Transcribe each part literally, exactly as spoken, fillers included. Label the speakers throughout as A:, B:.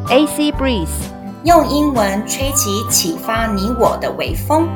A: A C Breeze，
B: 用英文吹起啟發你我的微風。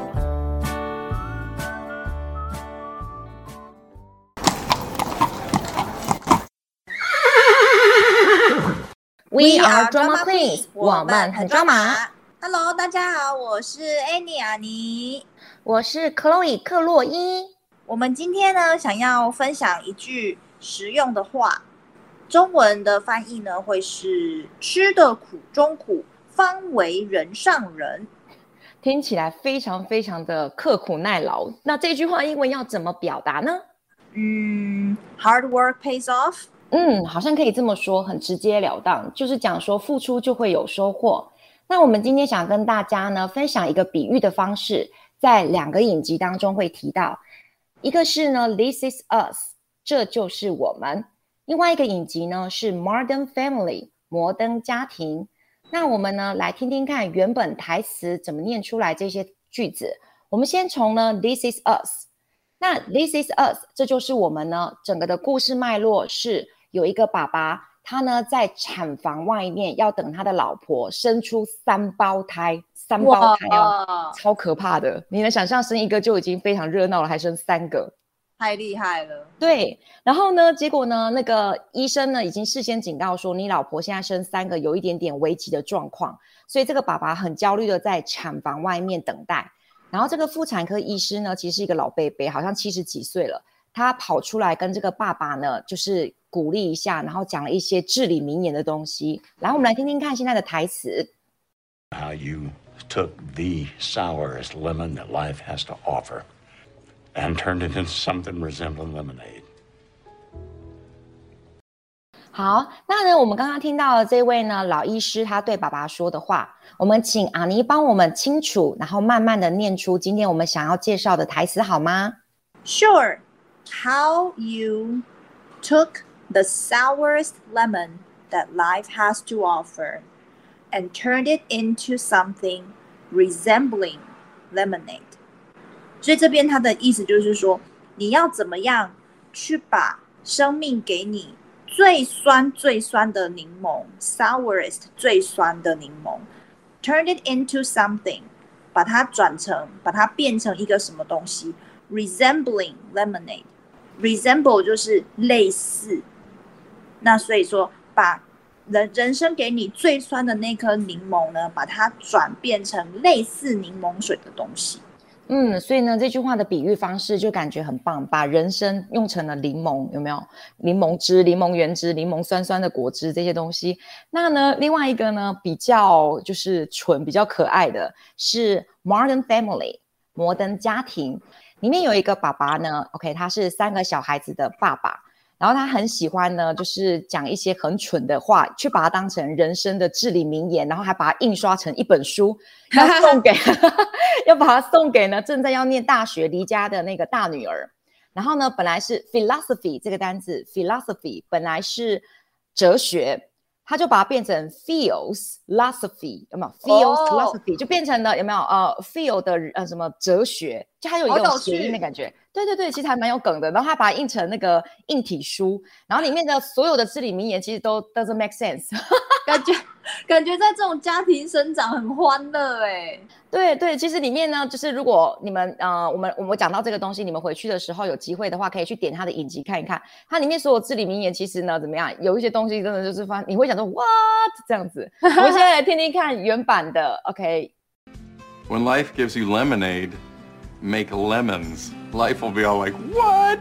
A: We are Drama Queens， 我們很抓馬。
C: Hello， 大家好，我是 Annie 阿妮，
A: 我是 Chloe 克洛伊。
C: 我們今天呢，想要分享一句實用的話，中文的翻譯呢會是“吃得苦中苦，方為人上人”，
A: 聽起來非常非常的刻苦耐勞。那這句話英文要怎麼表達呢？
C: 嗯 ，Hard work pays off。
A: 嗯，好像可以這麼說，很直截了當，就是講說付出就會有收穫。那我們今天想跟大家呢分享一個比喻的方式，在兩個影集當中會提到，一個是呢 This is us， 這就是我們，另外一個影集呢是 Modern Family， 摩登家庭。那我們呢來聽聽看原本台詞怎麼念出來這些句子。我們先從呢 This is us， 那 This is us， 這就是我們呢，整個的故事脈絡是有一個爸爸，他呢在產房外面要等他的老婆生出三胞胎，三胞胎哦，超可怕的。你能想象生一個就已經非常熱鬧了，還生三個，
C: 太厲害了。
A: 對，然後呢，結果呢，那個醫生呢已經事先警告說，你老婆現在生三個，有一點點危急的狀況，所以這個爸爸很焦慮的在產房外面等待。然後這個婦產科醫師呢，其實是一個老伯伯，好像七十幾歲了。他跑出來跟這個爸爸呢，就是鼓勵一下，然後講了一些至理名言的東西。來，我們來聽聽看現在的台詞。
D: How you took the sourest lemon that life has to offer and turned it into something resembling lemonade.
A: 好，那呢，我們剛剛聽到的這位呢老醫師他對爸爸說的話，我們請阿妮幫我們清楚，然後慢慢的念出今天我們想要介紹的台詞好嗎？
C: Sure.How you took the sourest lemon that life has to offer and turned it into something resembling lemonade. 所以這邊它的意思就是說，你要怎麼樣去把生命給你最酸最酸的檸檬 sourest 最酸的檸檬 turned it into something 把它轉成把它變成一個什麼東西 resembling lemonade。Resemble 就是類似，那所以說把人人生給你最酸的那顆檸檬呢，把它轉變成類似檸檬水的東西。
A: 嗯，所以呢，這句話的比喻方式就感覺很棒，把人生用成了檸檬，有沒有？檸檬汁、檸檬原汁、檸檬酸酸的果汁這些東西。那呢，另外一個呢，比較就是純、比較可愛的是 Modern Family， 摩登家庭。裡面有一個爸爸呢 ，OK， 他是三個小孩子的爸爸，然後他很喜歡呢，就是講一些很蠢的話，去把它當成人生的至理名言，然後還把它印刷成一本書，要送給，要把它送給呢正在要念大學離家的那個大女兒。然後呢，本來是 philosophy 這個單字 ，philosophy 本來是哲學。他就把它變成 philosophy， 有沒有 philosophy、oh. 就變成了有沒有呃 phil 的呃什麼哲學，就它有一種諧音的感覺。對對對，其實還蠻有梗的。然後他把它印成那個硬體書，然後裡面的所有的至理名言其實都 doesn't make sense，
C: 感覺感覺在這種家庭生長很歡樂哎。
A: 對對，其實裡面呢，就是如果你們呃，我們我們講到這個東西，你們回去的時候有機會的話，可以去點它的影集看一看。它裡面所有至理名言，其實呢怎麼樣？有一些東西真的就是發，你會想說 what 這樣子。我們現在來聽聽看原版的 ，OK。When
E: life gives you lemonade, make lemons. Life will be all like what?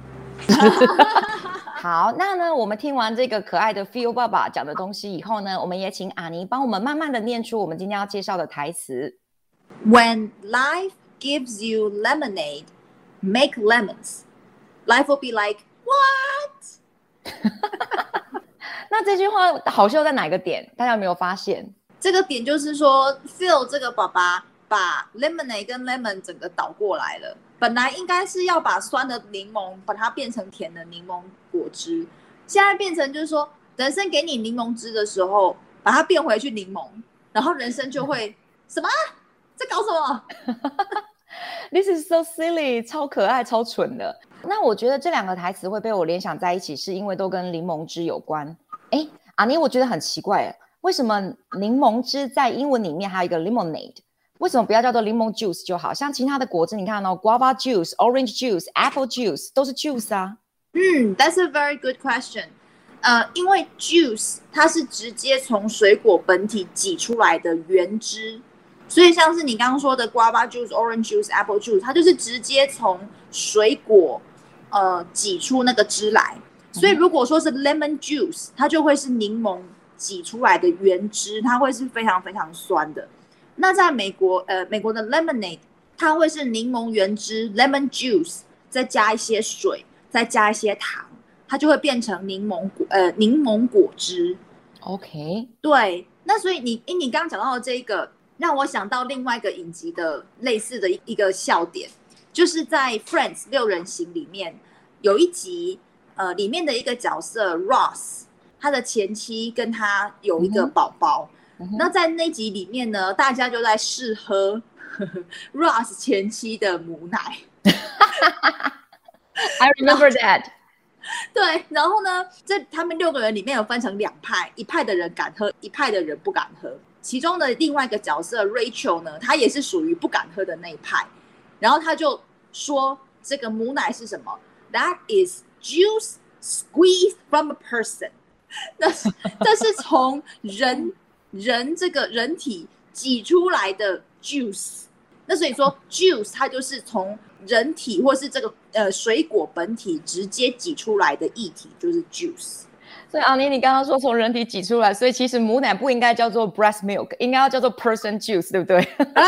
A: 好，那呢，我們聽完這個可愛的 Phil 爸爸講的東西以後呢，我們也請阿妮幫我們慢慢的念出我們今天要介紹的台詞。
C: When life gives you lemonade, make lemons. Life will be like, what?
A: 那這句話好笑在哪個點？大家有沒有發現？
C: 這個點就是說 Phil 這個爸爸把 lemonade 跟 lemon 整個倒過來了。本來應該是要把酸的檸檬把它變成甜的檸檬果汁，現在變成就是說，人生給你檸檬汁的時候，把它變回去檸檬，然後人生就會什麼？在搞什麼
A: ？This is so silly， 超可愛、超蠢的。那我覺得這兩個台詞會被我聯想在一起，是因為都跟檸檬汁有關。哎，阿妮，我覺得很奇怪， 為什麼檸檬汁在英文裡面還有一個 lemonade？ 為什麼不要叫做 lemon juice 就好？像其他的果汁，你看哦 ，guava juice、orange juice、apple juice 都是 juice 啊。
C: 嗯 ，That's a very good question。呃，因為 juice 它是直接從水果本體擠出來的原汁，所以像是你剛剛說的 guava juice、orange juice、apple juice， 它就是直接從水果呃擠出那個汁來。所以如果說是 lemon juice， 它就會是檸檬擠出來的原汁，它會是非常非常酸的。那在美國，呃，美國的 lemonade， 它會是檸檬原汁 lemon juice， 再加一些水，再加一些糖。它就會變成檸檬果，呃，檸檬果汁。
A: OK， 對。
C: 那所以你，你剛剛講到的這一個，讓我想到另外一個影集的類似的一個笑點，就是在 Friends 六人行裡面有一集，呃，裡面的一個角色 Ross， 他的前妻跟他有一個寶寶。嗯、那在那集裡面呢，大家就在試喝呵呵 Ross 前妻的母奶。
A: I remember that。
C: 對，然後呢，這他們六個人裡面有分成兩派，一派的人敢喝，一派的人不敢喝。其中的另外一個角色 Rachel 呢，她也是屬於不敢喝的那一派。然後他就說，這個母奶是什麼 ？That is juice squeezed from a person。那是這是從人人這個人體擠出來的 juice。那所以說 juice 它就是從人體或是這個呃水果本體直接擠出來的液體，就是 juice。
A: 所以阿妮，你剛剛說從人體擠出來，所以其實母奶不應該叫做 breast milk， 應該要叫做 person juice， 對不對？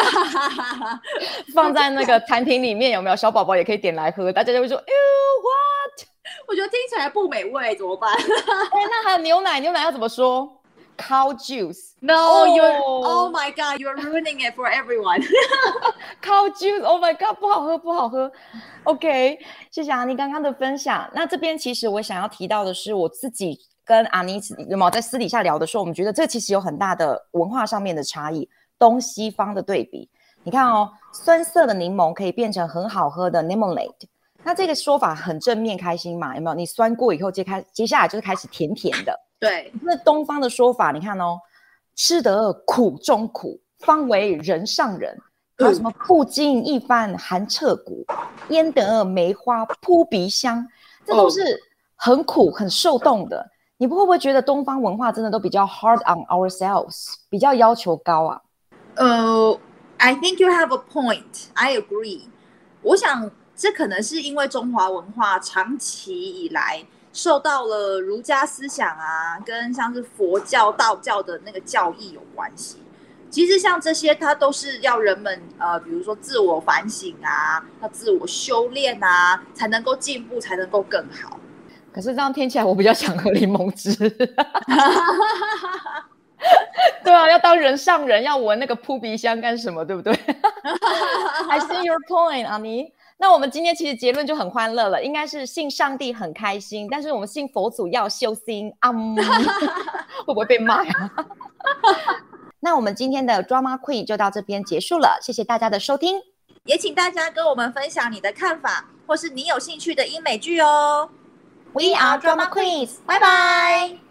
A: 放在那個餐廳裡面有沒有？小寶寶也可以點來喝，大家就會說 ew what？
C: 我覺得聽起來不美味，怎麼辦？
A: 哎，那還有牛奶，牛奶要怎麼說？Cow juice.
C: No, oh. you're, oh my God, you're ruining it for everyone.
A: Cow juice, oh my God, 不好喝，不好喝。OK， 謝謝阿妮剛剛的分享。那這邊其實我想要提到的是，我自己跟阿妮有沒有在私底下聊的時候，我們覺得這其實有很大的文化上面的差異，東西方的對比。你看哦，酸澀的檸檬可以變成很好喝的 lemonade。那這個說法很正面開心嘛，有沒有？你酸過以後，接開接下來就是開始甜甜的。
C: 對，
A: 那東方的說法，你看哦，吃得苦中苦，方為人上人。還有什麼不經一番寒徹骨，焉得梅花撲鼻香？這都是很苦、很受凍的。你不會不會覺得東方文化真的都比較 hard on ourselves， 比較要求高啊？
C: 呃、uh, ，I think you have a point. I agree. 我想這可能是因為中華文化長期以來受到了儒家思想啊，跟像是佛教、道教的那個教義有關係。其實像這些，它都是要人們呃，比如說自我反省啊，要自我修煉啊，才能夠進步，才能夠更好。
A: 可是這樣聽起來，我比較想喝檸檬汁。對啊，要當人上人，要聞那個撲鼻香幹什麼？對不對？I see your point， 阿妮。那我們今天其實結論就很歡樂了，應該是信上帝很開心，但是我們信佛祖要修心啊、嗯，會不會被罵呀？那我們今天的 Drama Queen 就到這邊結束了，謝謝大家的收聽，
C: 也請大家跟我們分享你的看法，或是你有興趣的英美劇哦。
B: We are Drama Queens，拜拜。